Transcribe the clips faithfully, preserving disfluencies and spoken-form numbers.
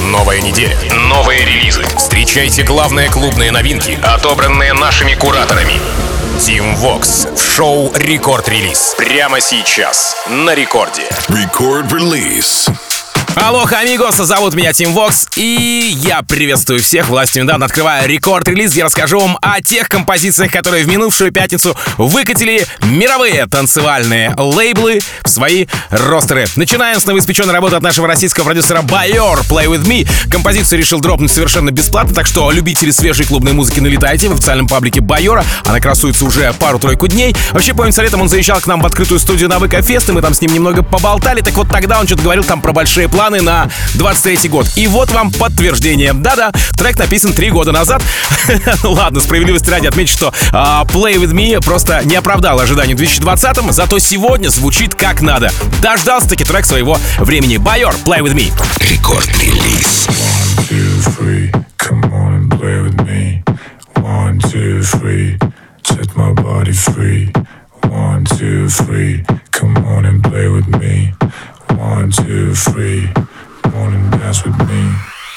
Новая неделя, новые релизы. Встречайте главные клубные новинки, отобранные нашими кураторами. Team Vox в шоу «Рекорд Релиз». Прямо сейчас на Рекорде. Record Release. Алоха, амигос, зовут меня Team Vox, и я приветствую всех. Властью недавно открываю рекорд-релиз, где расскажу вам о тех композициях, которые в минувшую пятницу выкатили мировые танцевальные лейблы в свои ростеры. Начинаем с новоиспеченной работы от нашего российского продюсера Байор, Play With Me. Композицию решил дропнуть совершенно бесплатно, так что любители свежей клубной музыки, налетайте в официальном паблике Байора. Она красуется уже пару-тройку дней. Вообще, по инициалетам он заезжал к нам в открытую студию на ВК-фест, и мы там с ним немного поболтали. Так вот, тогда он что-то говорил там про большие планы на двадцать третий год. И вот вам подтверждение. Да-да, трек написан три года назад. Ладно, справедливости ради отмечу, что uh, Play With Me просто не оправдал ожиданий в две тысячи двадцатом, зато сегодня звучит как надо. Дождался-таки трек своего времени. Байор, Play With Me. Рекорд-релиз. One, two, three, come on and play with me. One, two, three, set my body free. One, two, three, come on and play with me. One, two, three, come on and dance with me.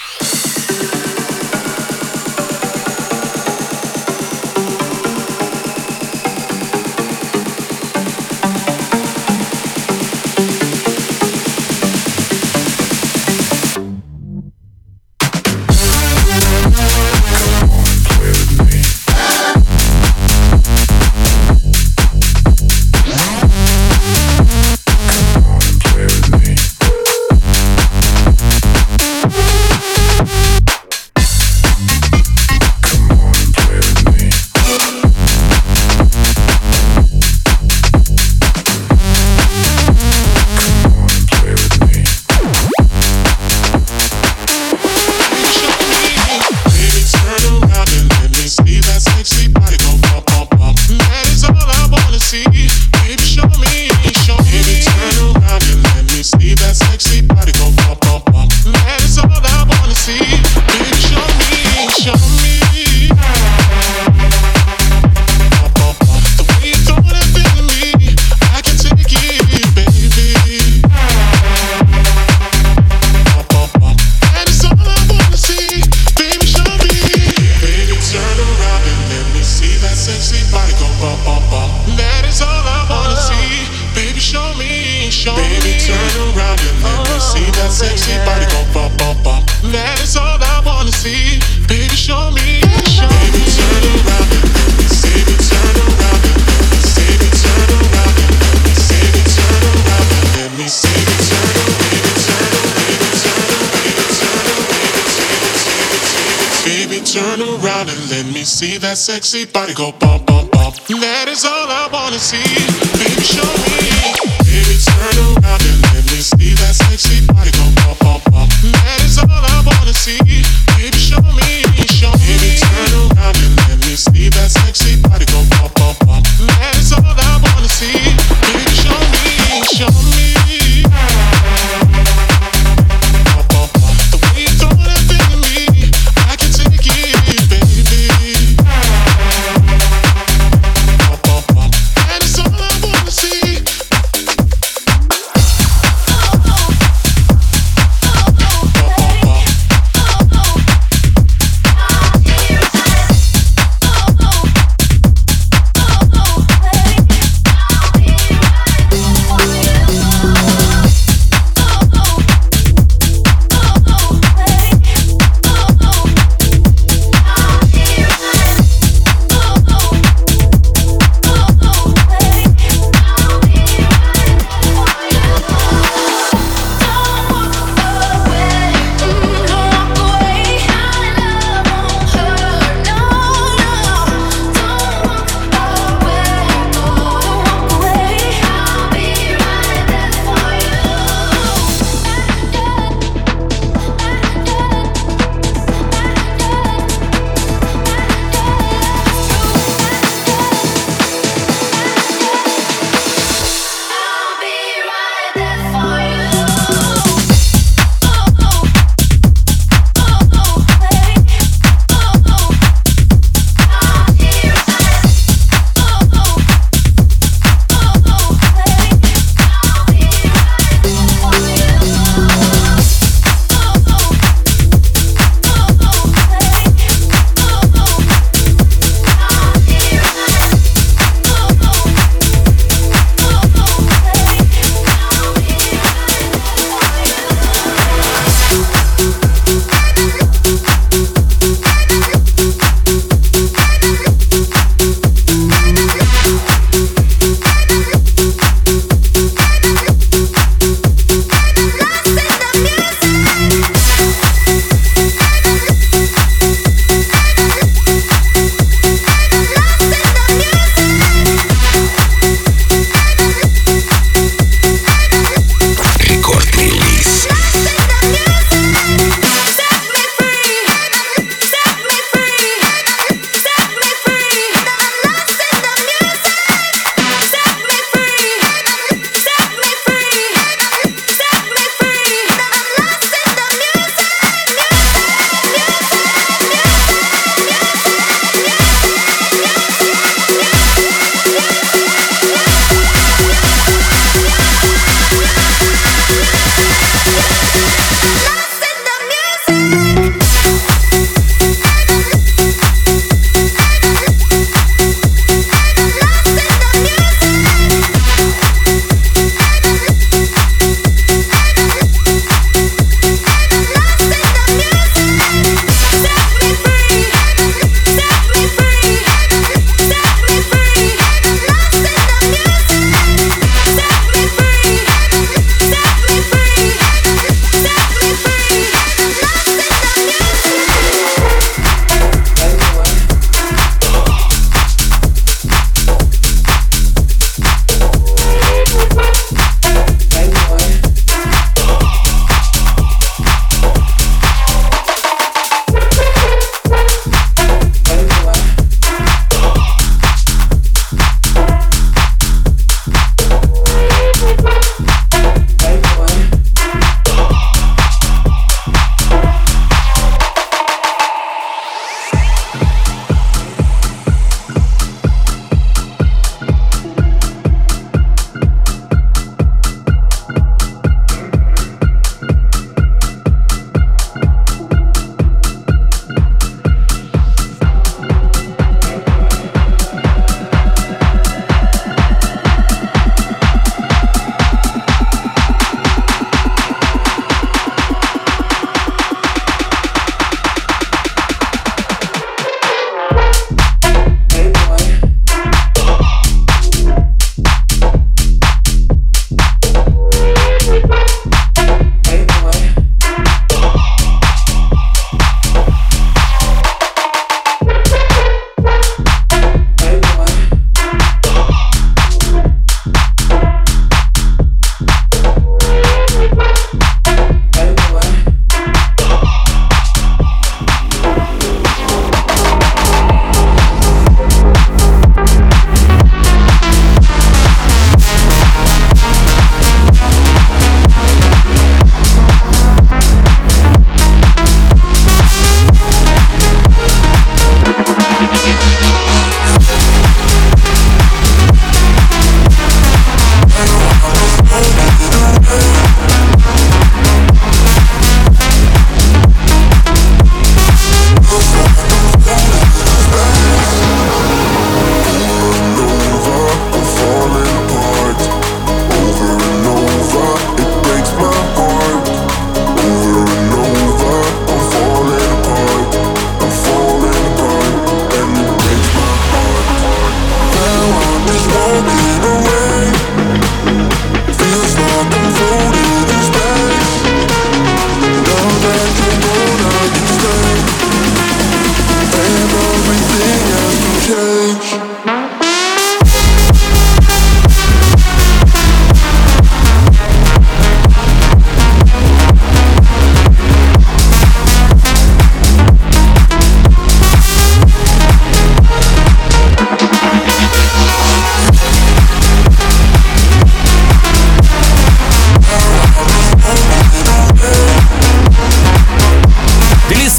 See that sexy body go bump, bump, bump. That is all I wanna see. Baby, show me. Baby, turn around and let me see that sexy body go bump, bump, bump. That is all I wanna see. Baby, show me, show me. Baby, turn around and let me see that sexy body go bump, bump, bump. That is all I wanna see. Baby, show me, show me.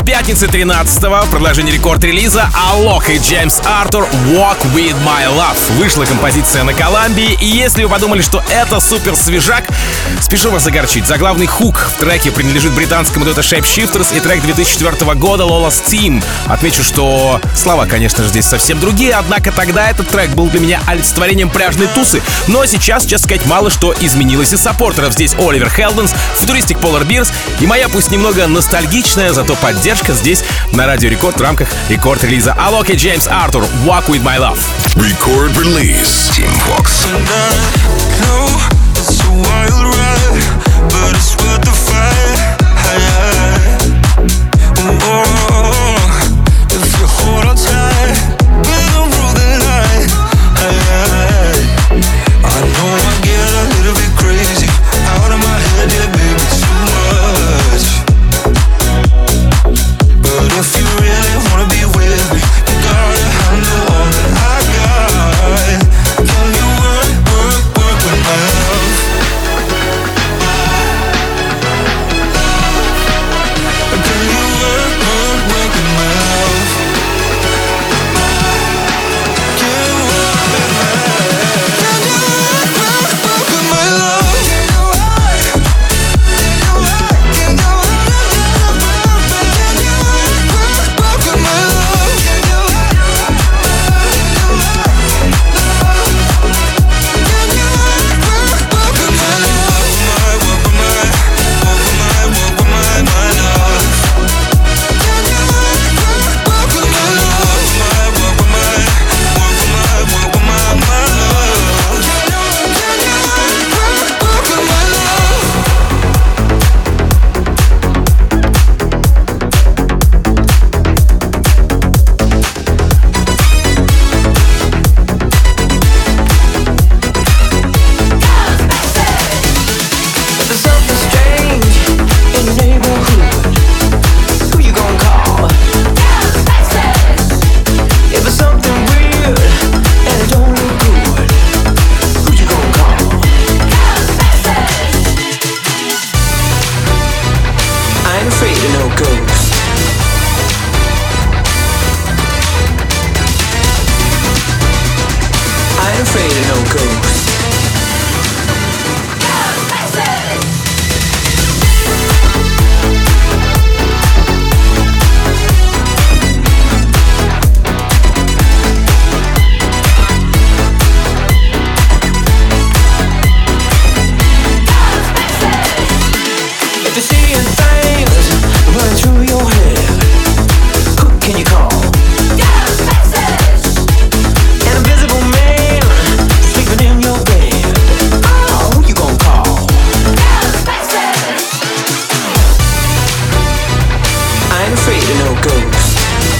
пятницы тринадцатого в продолжении рекорд-релиза Alok и Джеймс Артур «Walk With My Love». Вышла композиция на Колумбии, и если вы подумали, что это супер свежак, спешу вас огорчить. Заглавный хук в треке принадлежит британскому дуэту Shapeshifters и трек две тысячи четвёртого года Lola's Team. Отмечу, что слова, конечно же, здесь совсем другие, однако тогда этот трек был для меня олицетворением пляжной тусы. Но сейчас, честно сказать, мало что изменилось из саппортеров. Здесь Оливер Хелденс, футуристик Polar Bears и моя, пусть немного ностальгичная, зато поддержка здесь на Радио Рекорд в рамках рекорд-релиза Alok и Джеймс Артур «Walk With My Love». Record release. Team Vox. It's a wild ride, but it's worth the fight. Oh, if you hold on tight, we're gonna rule the night. I know I get a little bit crazy, out of my head, yeah, baby, too much. But if you really wanna be with me, you gotta handle all that I got. Can you work, work, work with my love? Can you work, work, work with my love? Can you work with my love? Can you work, work, work with my love? Can you work? Can you work? Can you work? Can you work, work with my love? Can you work? Can you work? Can you work, work with my love? Work with my, work with my, work with my, my love. Can you work, work with my love? Work with my, work with my, work with my, my love. Can you, can you work, work with my love? If there's something strange in your neighborhood, who you gonna call? If it's something weird and it don't look good, who you gonna call? I ain't afraid of no ghosts. I ain't afraid of no ghosts. If you're seeing things running through your head, who can you call? An invisible man sleeping in your bed. Oh, who you gonna call? I ain't afraid of no ghosts.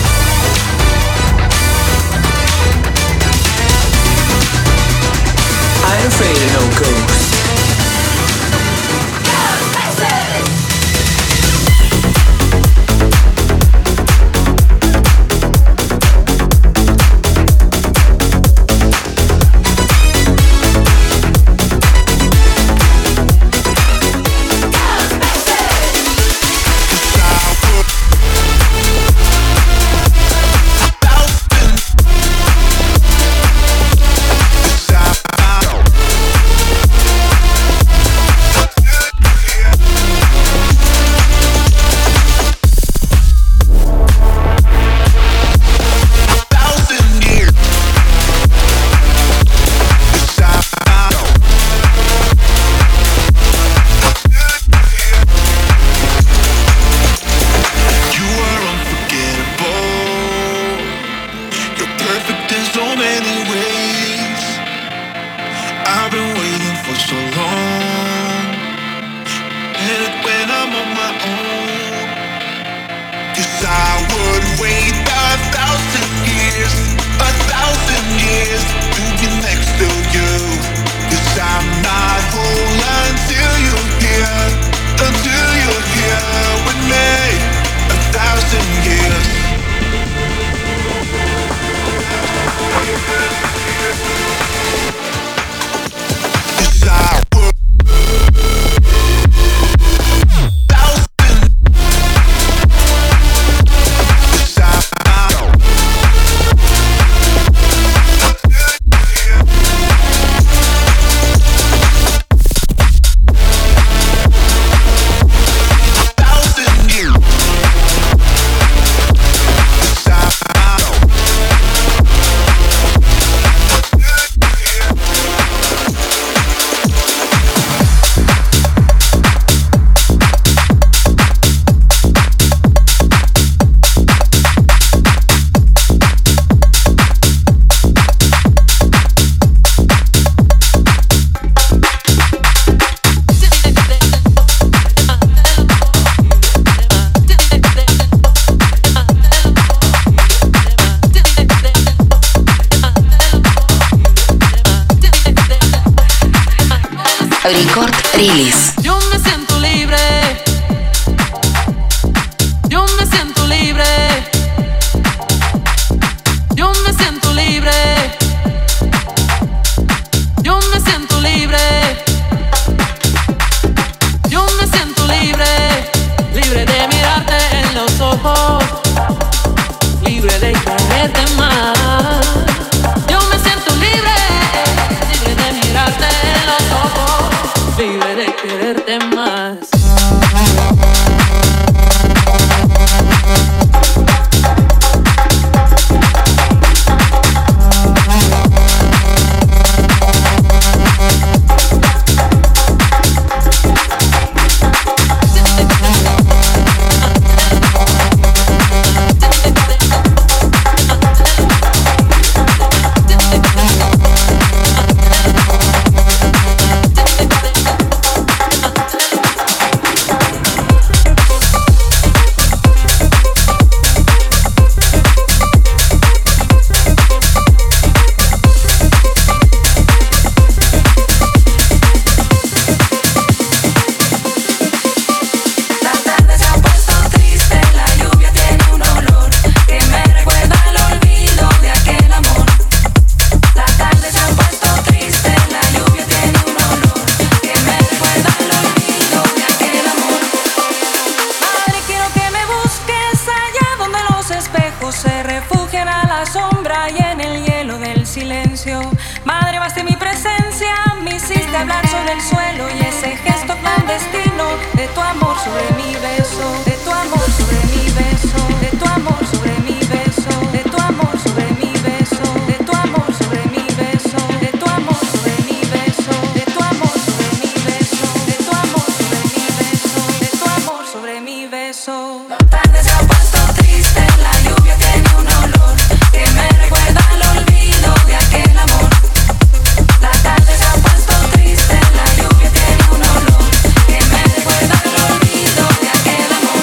I ain't afraid of no ghosts. silencio. Madre, basta mi presencia, me hiciste hablar sobre el suelo y ese gesto clandestino de tu amor sobre mi beso, de tu amor sobre mi beso, de tu amor sobre mi beso, de tu amor sobre mi beso, de tu amor sobre mi beso, de tu amor sobre mi beso, de tu amor sobre mi beso, de tu amor sobre mi beso, de tu amor sobre mi beso. La tarde se ha puesto triste, la lluvia tiene un olor que me recuerda al olvido de aquel amor. La tarde se ha puesto triste, la lluvia tiene un olor que me recuerda al olvido de aquel amor.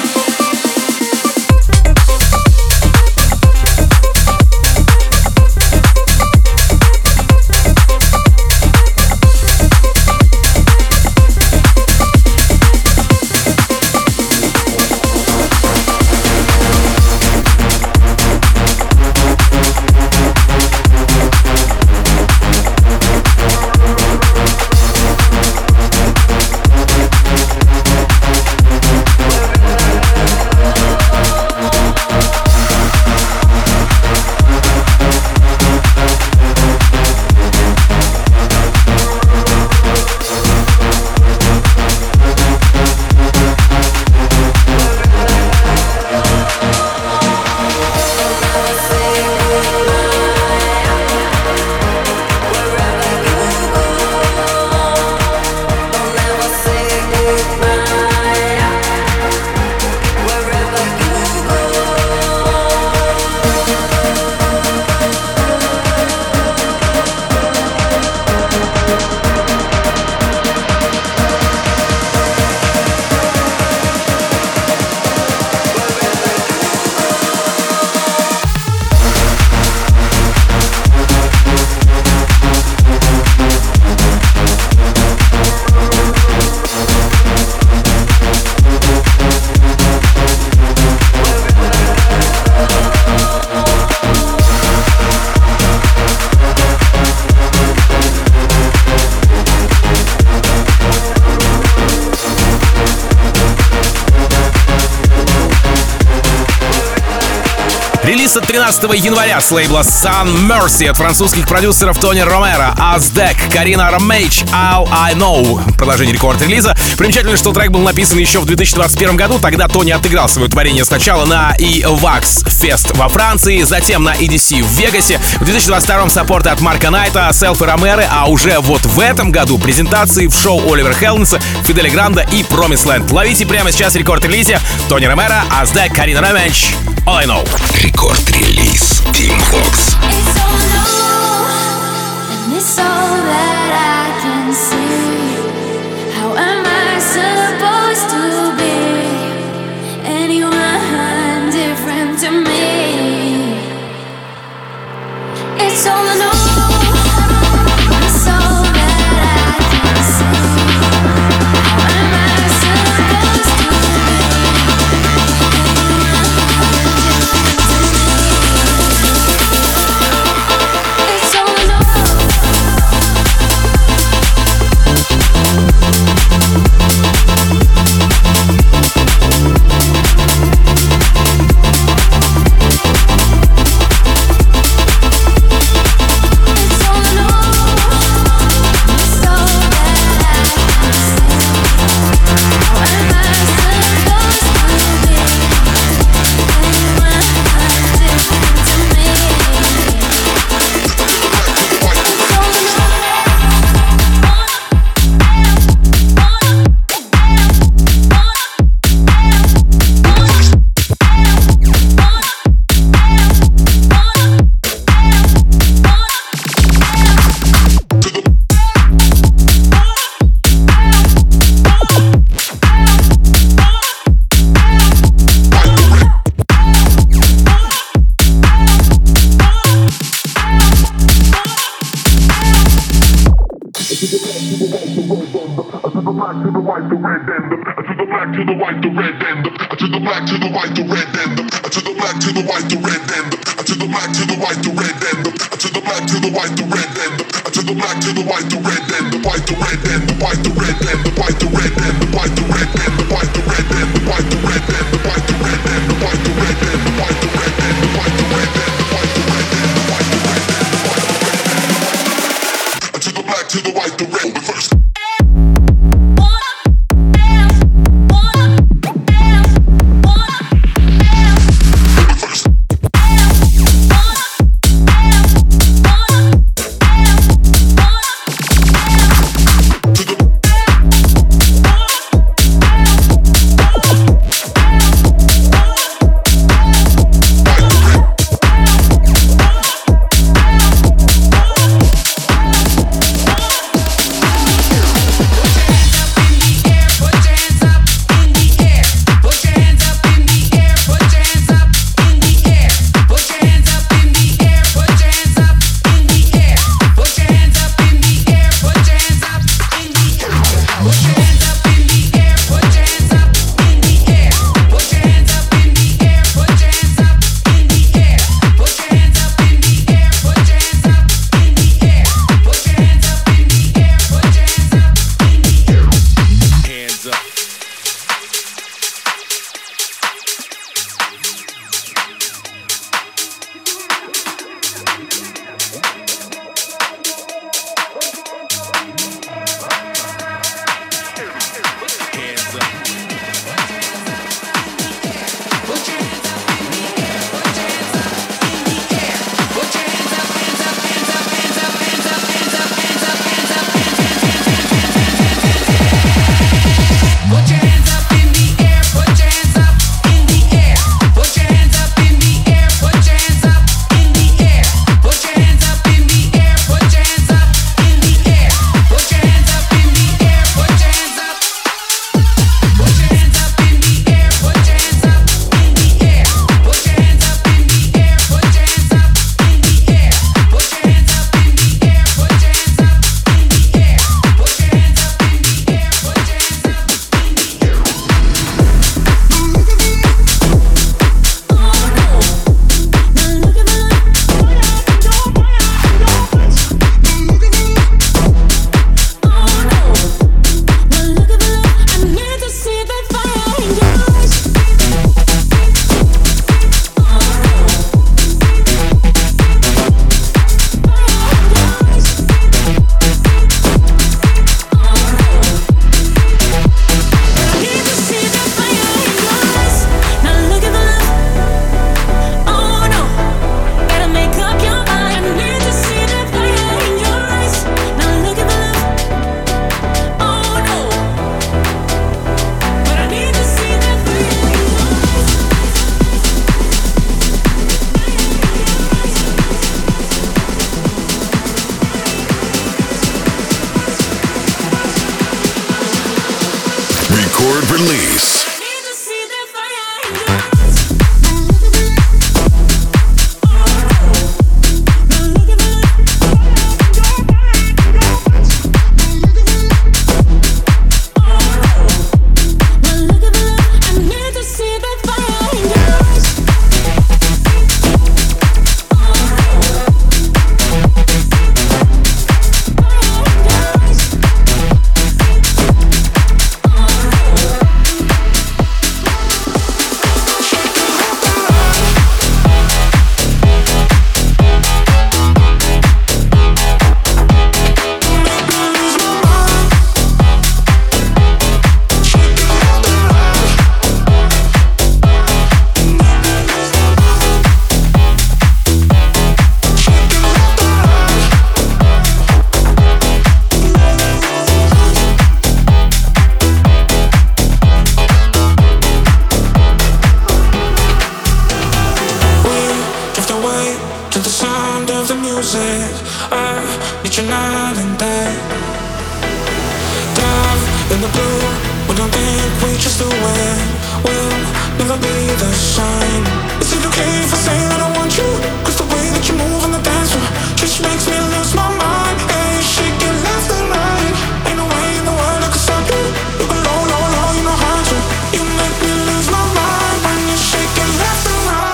Релиз от тринадцатого января с лейбла Sun Mercy от французских продюсеров Тони Ромеро, Аздек, Карина Ромейч, All I Know. Продолжение рекорд-релиза. Примечательно, что трек был написан еще в две тысячи двадцать первом году. Тогда Тони отыграл свое творение сначала на Evax Fest во Франции, затем на и ди си в Вегасе. В две тысячи двадцать втором саппорты от Марка Найта, Селф и Ромеро, а уже вот в этом году презентации в шоу Оливера Хелденса, Фиделя Гранда и Promised Land. Ловите прямо сейчас рекорд-релизе. Тони Ромеро, Аздек, Карина Ромейч, All I Know. Рекорд-релиз Team Vox. It's all new, and it's all that I can see. How am I supposed to be anyone different to me? It's all new, it's all that I can see. How am I supposed to It's all I I need you night and day. Dive in the blue, we don't think we just do it. We'll never be the same. Is it okay if I say that I want you? Cause the way that you move on the dance floor just makes me lose my mind. Hey, shake it left and right. Ain't no way in the world I can stop you. You go low, low, low, you know how to. You make me lose my mind when you shake it left and right.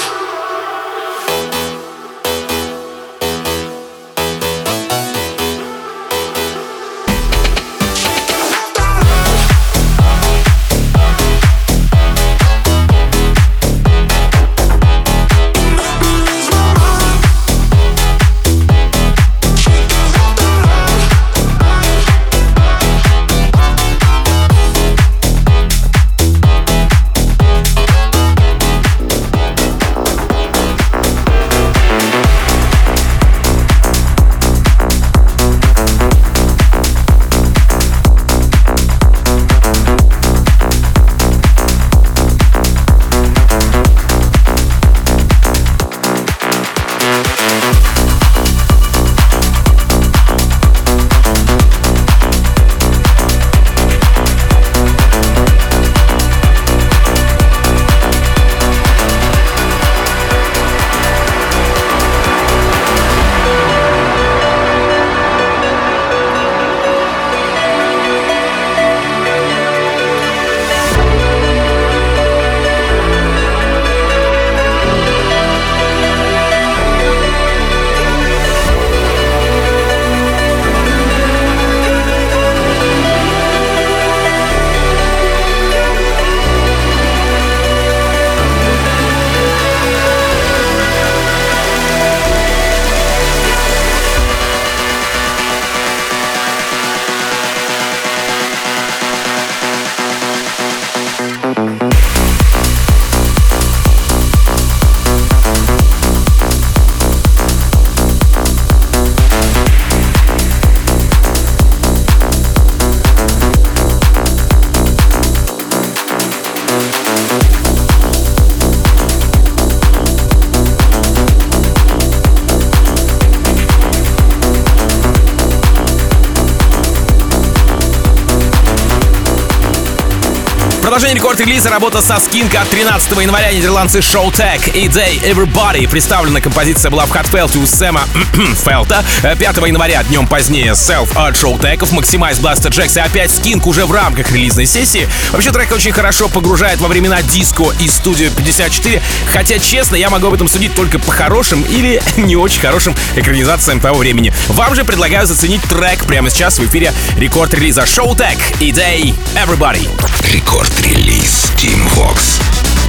Продолжение рекорд-релиза, работа со Skink от тринадцатого января, нидерландцы Showtek и Day Everybody. Представлена композиция была в Hot Felt у Сэма Фелта. пятого января, днем позднее, Self от Showtekов, Maximize, Blaster Jacks и опять Skink уже в рамках релизной сессии. Вообще трек очень хорошо погружает во времена диско и студию пятьдесят четыре, хотя, честно, я могу об этом судить только по хорошим или не очень хорошим экранизациям того времени. Вам же предлагаю заценить трек прямо сейчас в эфире рекорд-релиза Showtek и Day Everybody. Рекорд-релиз Team Vox.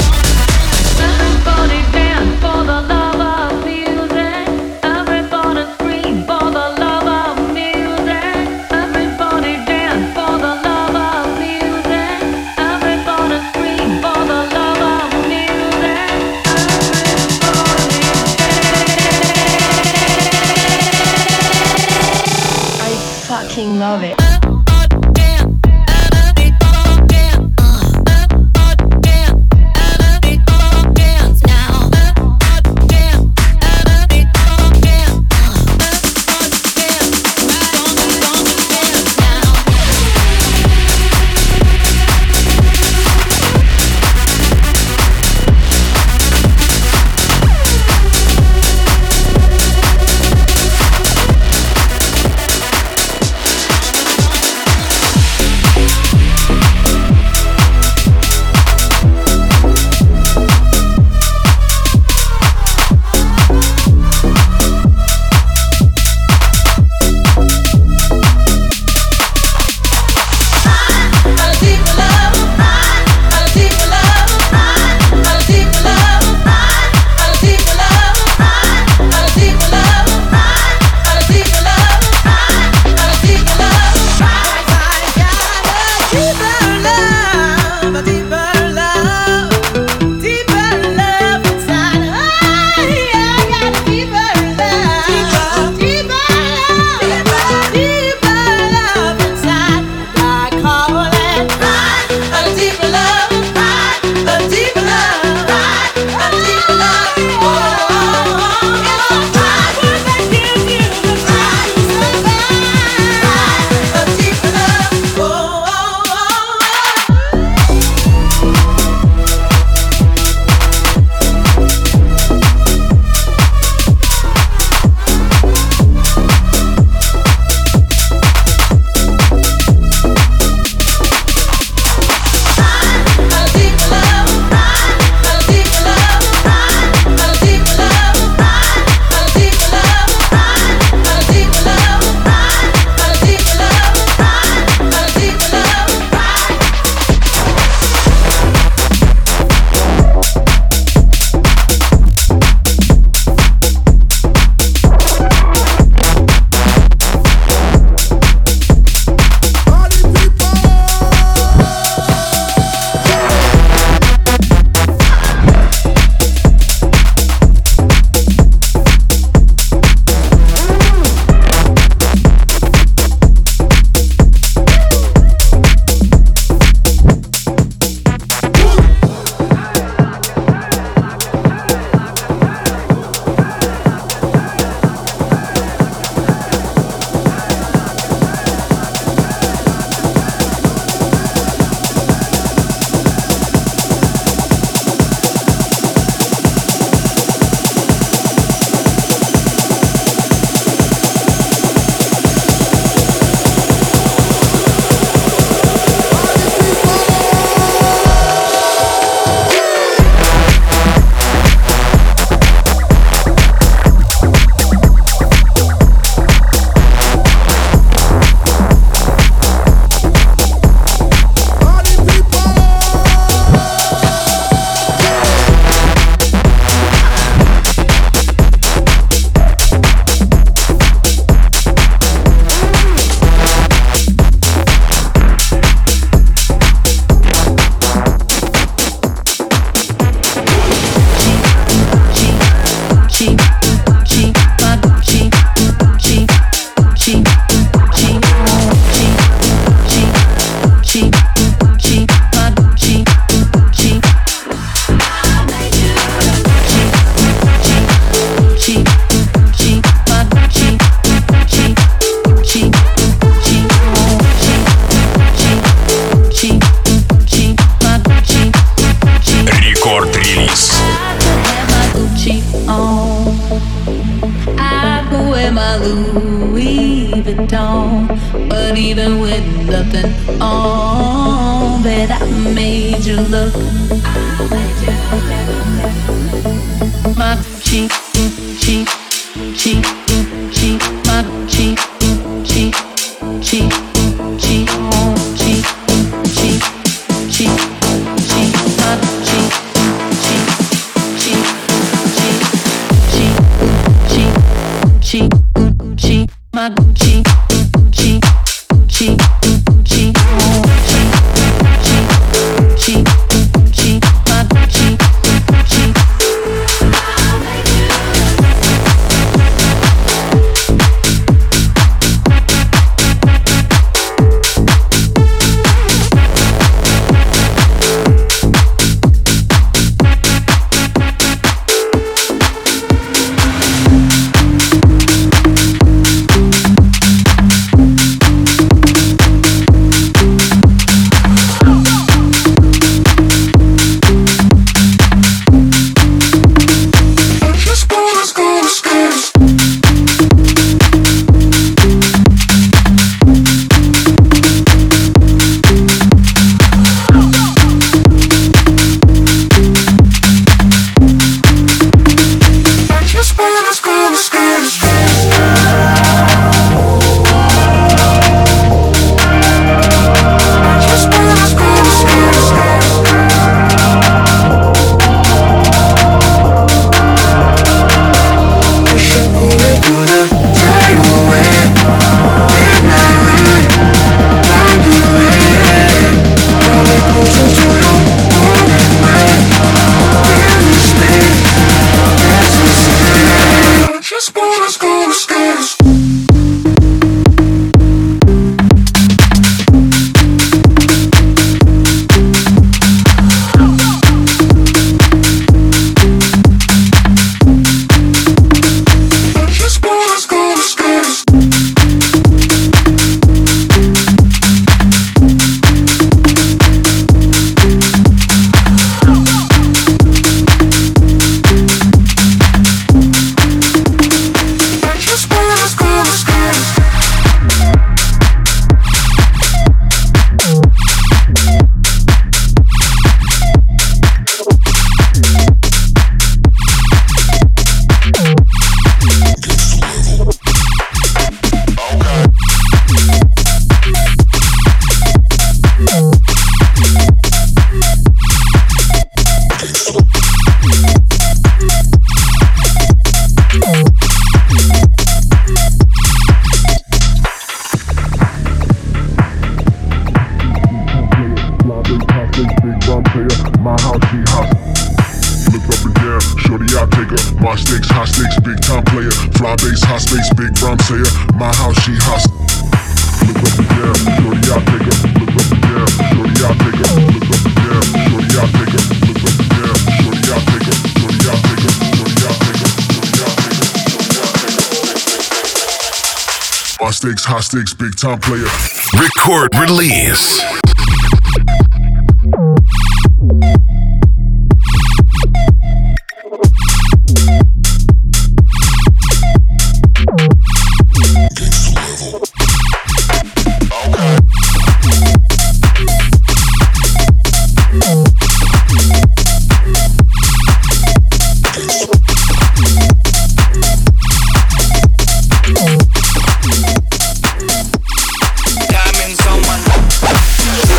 Everybody dance for the love of music. Everybody scream for the love of music. Everybody dance for the love of music. Everybody scream for the love of music. Everybody. I fucking love it. even with nothing on, that I made you look. My Gucci, Gucci, Gucci, Gucci, my Gucci, Gucci, Gucci, Gucci, Gucci, Gucci, Gucci, Gucci, my Gucci, Gucci, Gucci, Gucci, Gucci, Gucci, my Gucci, Gucci, Gucci, Gucci, Gucci, Gucci, Gucci, Gucci, my Gucci, Gucci. Stakes, high stakes, big time player. Record release. Diamonds on my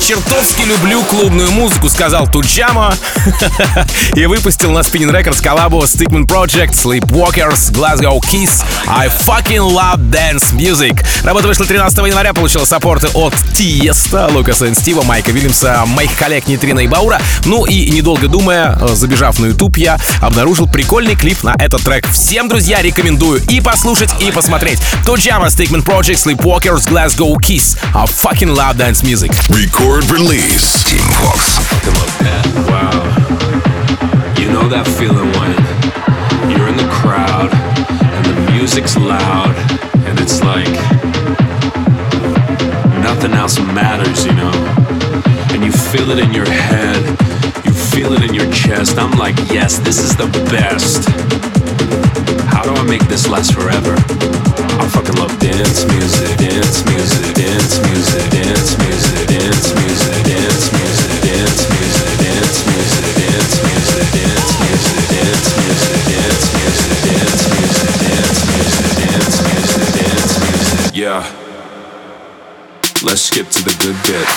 чертовски люблю клубную музыку», сказал Туджама и выпустил на Spinning Records коллабу Stickman Project, Sleepwalkers, Glasgow Kiss, I fucking love dance music. Работа вышла тринадцатого января, получила саппорты от Тиеста, Лукаса и Стива, Майка Вильямса, моих коллег Нитрина и Баура. Ну и, недолго думая, забежав на YouTube, я обнаружил прикольный клип на этот трек. Всем, друзья, рекомендую и послушать, и посмотреть. Туджама, Stickman Project, Sleepwalkers, Glasgow Kiss, I fucking love dance music. Record release. Team Vox. Wow. You know that feeling when you're in the crowd and the music's loud and it's like nothing else matters, you know? And you feel it in your head, you feel it in your chest. I'm like, yes, this is the best. How do I make this last forever? I fucking love dance music, dance music, dance music, dance music, dance music, dance music, dance music, dance music, dance music, dance music, dance music, dance music, dance music, dance music, dance music, dance music. Yeah. Let's skip to the good bit.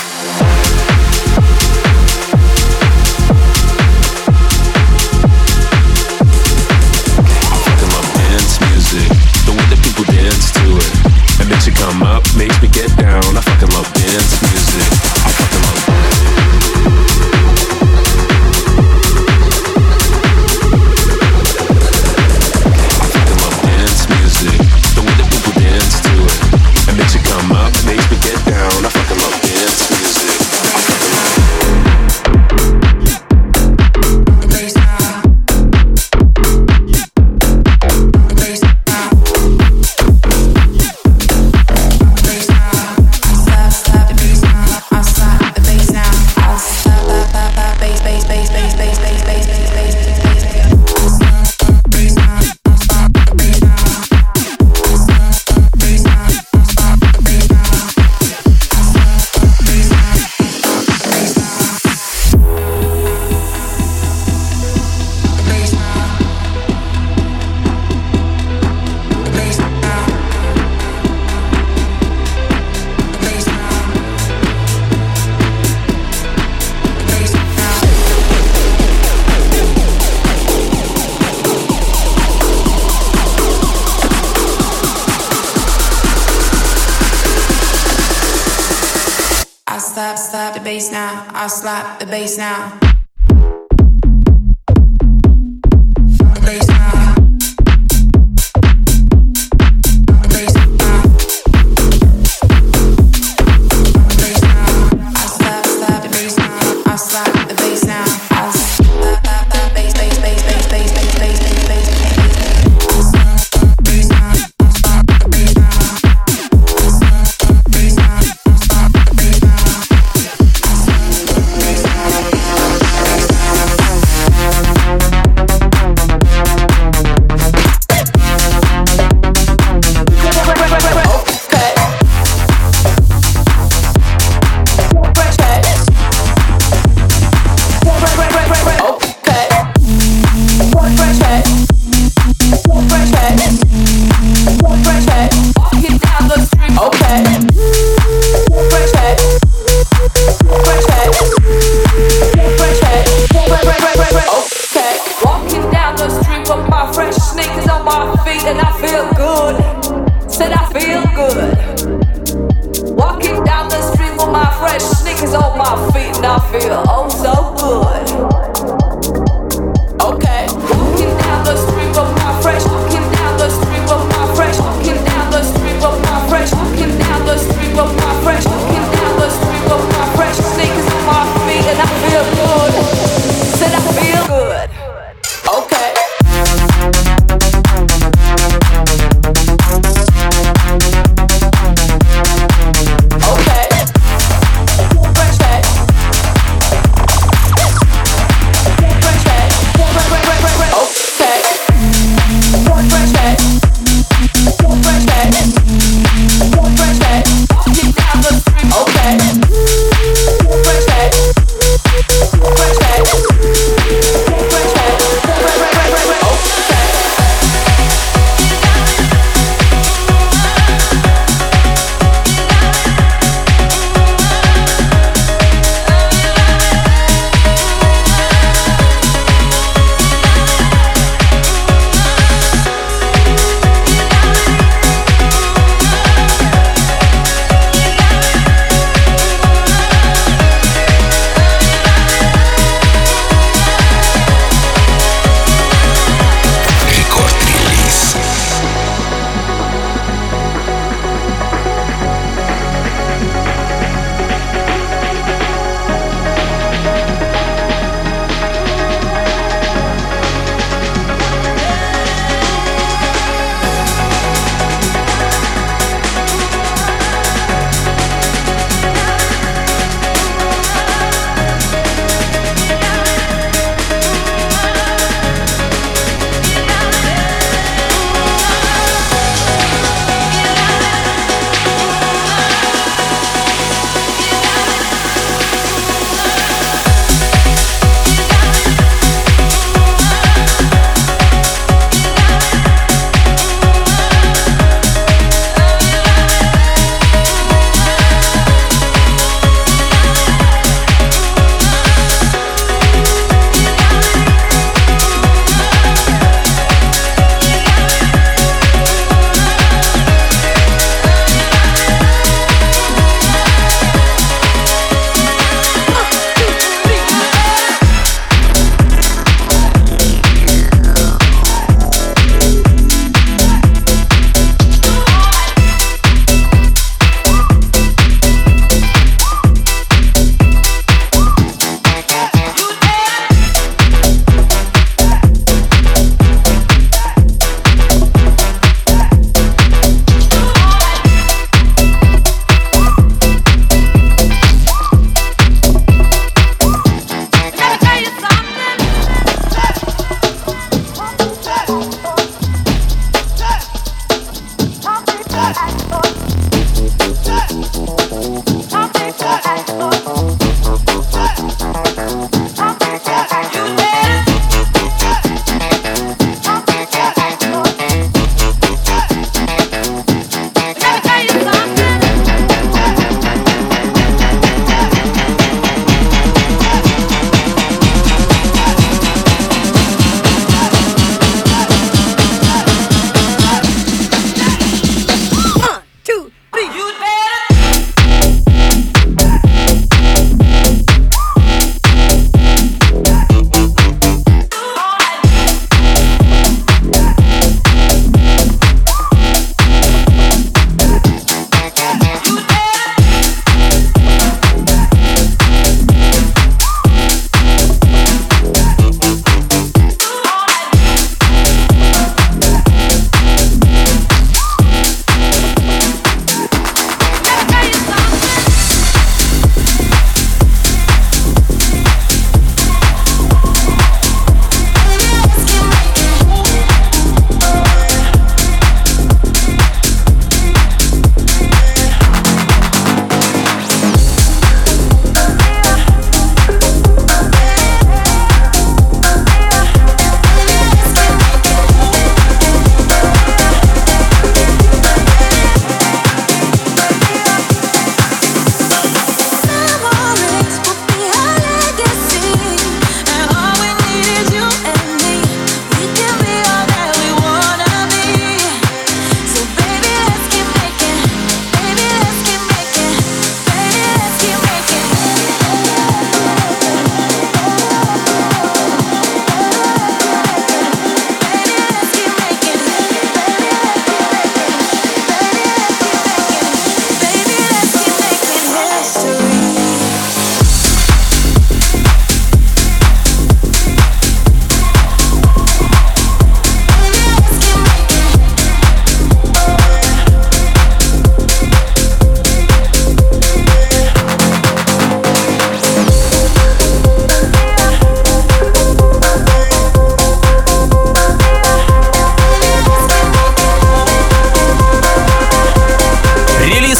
The way that people dance to it, it makes you come up, makes me get down. I fucking love dance music. I fucking love I fucking love dance music. The way that people dance to it, it makes you come up, makes me get down. I fucking love dance music. I fucking I'll slap the bass now.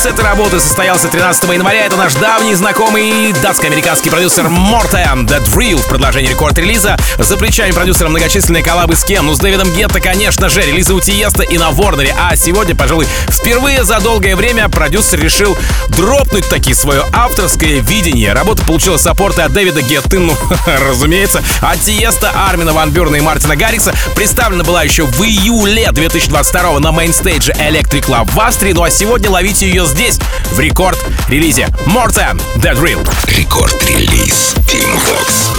этой работы состоялся тринадцатого января. Это наш давний знакомый датско-американский продюсер Morten The Drill в продолжении рекорд-релиза. За плечами продюсера многочисленные коллабы с кем? Ну, с Дэвидом Гетто, конечно же, релизы у Тиеста и на Ворнере. А сегодня, пожалуй, впервые за долгое время продюсер решил дропнуть таки свое авторское видение. Работа получила саппорты от Дэвида Гетты, ну, разумеется, от Тиеста, Армина ван Бюрна и Мартина Гаррикса. Представлена была еще в июле две тысячи двадцать второго на мейнстейдже Electric Club в Австрии. Ну а сегодня ловите ее здесь, в рекорд-релизе. Morten The Drill. Рекорд-релиз Team Vox.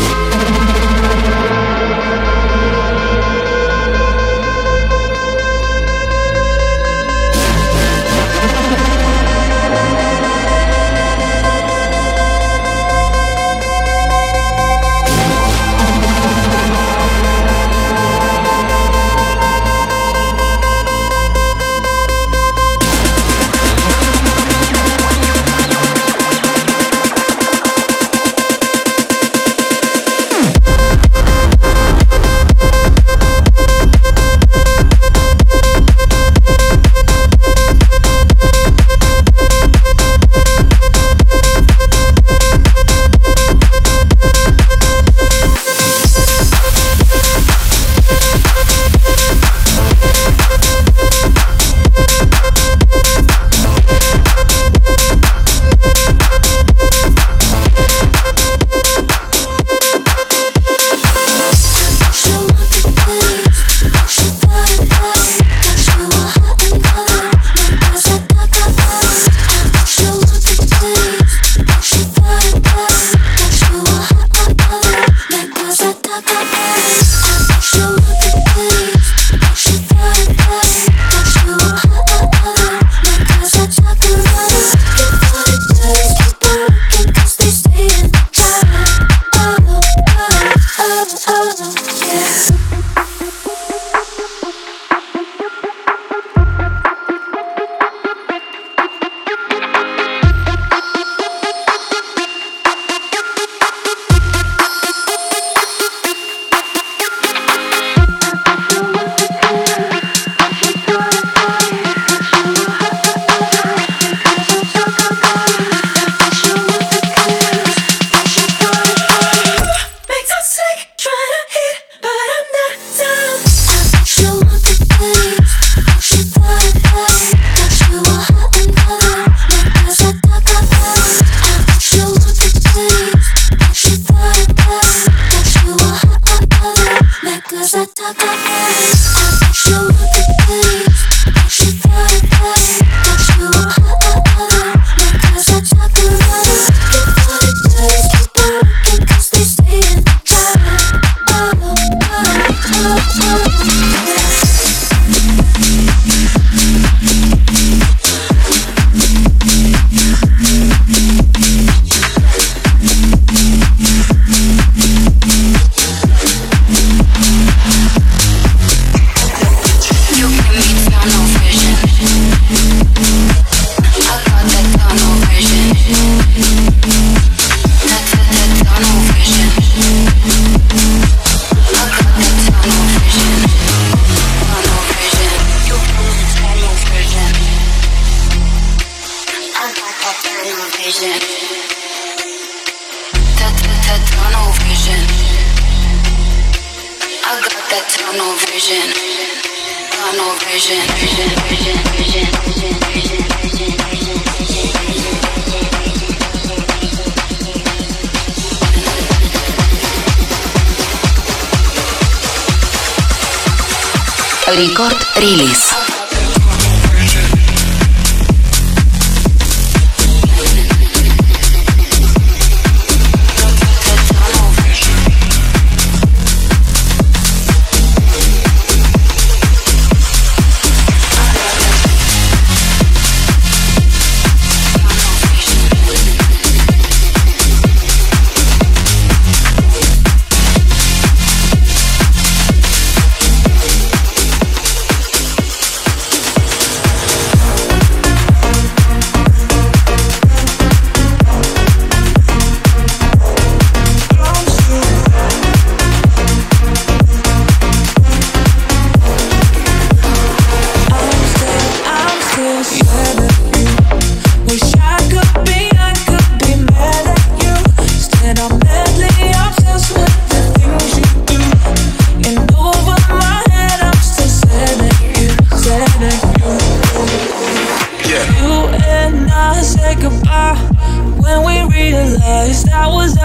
Рекорд-релиз.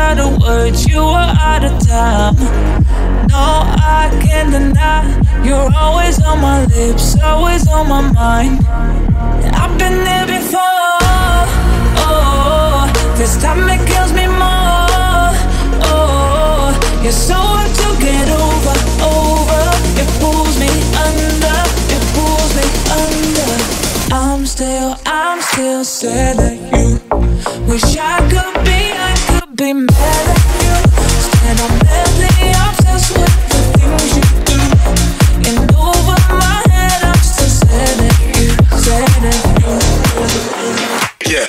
out of words, you are out of time. No, I can't deny, you're always on my lips, always on my mind. I've been there before, oh, this time it kills me more, oh, you're so hard to get over, over, it pulls me under, it pulls me under. I'm still, I'm still sad at you. Wish I could be, I could be mad at you. Stand on madly obsessed with the things you do. And over my head, I'm still sad at you, sad at you. Yeah.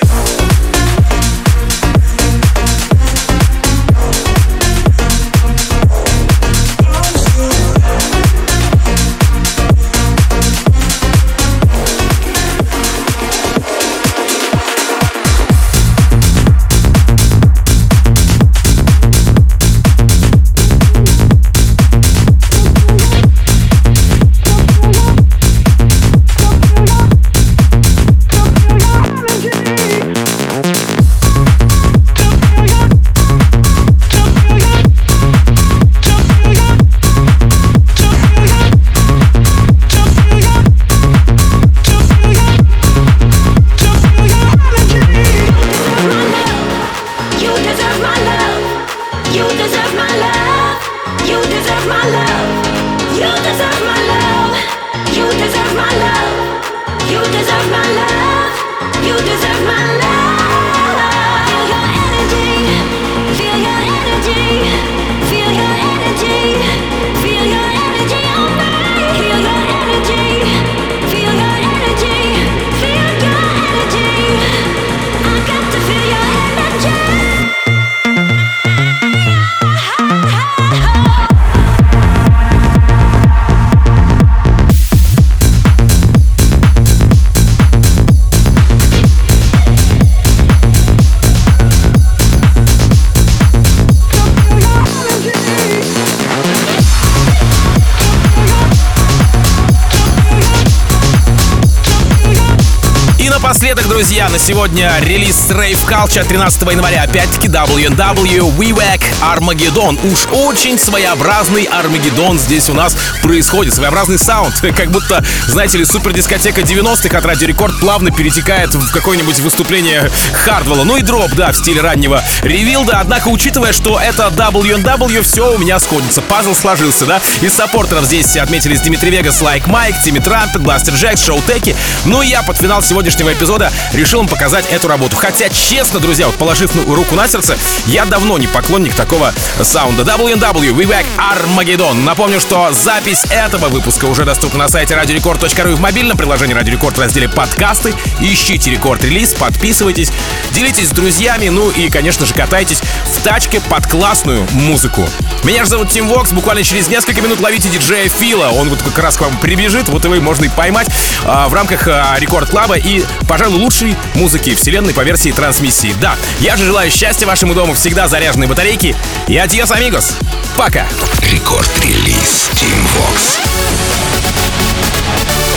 Напоследок, друзья, на сегодня релиз Rave Culture тринадцатого января. Опять-таки дабл ю эн дабл ю, We Wack, Armageddon. Уж очень своеобразный Армагеддон здесь у нас происходит. Своеобразный саунд. Как будто, знаете ли, супердискотека девяностых от Радио Рекорд плавно перетекает в какое-нибудь выступление Хардвелла. Ну и дроп, да, в стиле раннего ревилда. Однако, учитывая, что это дабл ю эн дабл ю, все у меня сходится. Пазл сложился, да? Из саппортеров здесь отметились Дмитрий Вегас, Like Mike, Тимми Трампет, Бластер Джекс, Шоу Теки. Ну и я под финал сегодняшнего эпизода решил вам показать эту работу. Хотя, честно, друзья, вот положив руку на сердце, я давно не поклонник такого саунда. дабл ю эн дабл ю, We Wack, Armageddon. Напомню, что запись этого выпуска уже доступна на сайте радио рекорд точка ру и в мобильном приложении Радио Рекорд в разделе «Подкасты». Ищите рекорд-релиз, подписывайтесь, делитесь с друзьями, ну и, конечно же, катайтесь в тачке под классную музыку. Меня же зовут Тим Вокс. Буквально через несколько минут ловите диджея Фила. Он вот как раз к вам прибежит, вот его можно и поймать а, в рамках а, Рекорд Клаба и, пожалуй, лучшей музыки вселенной по версии трансмиссии. Да, я же желаю счастья вашему дому, всегда заряженные батарейки. И адьос, амигос. Пока. Рекорд-релиз Тим Вокс.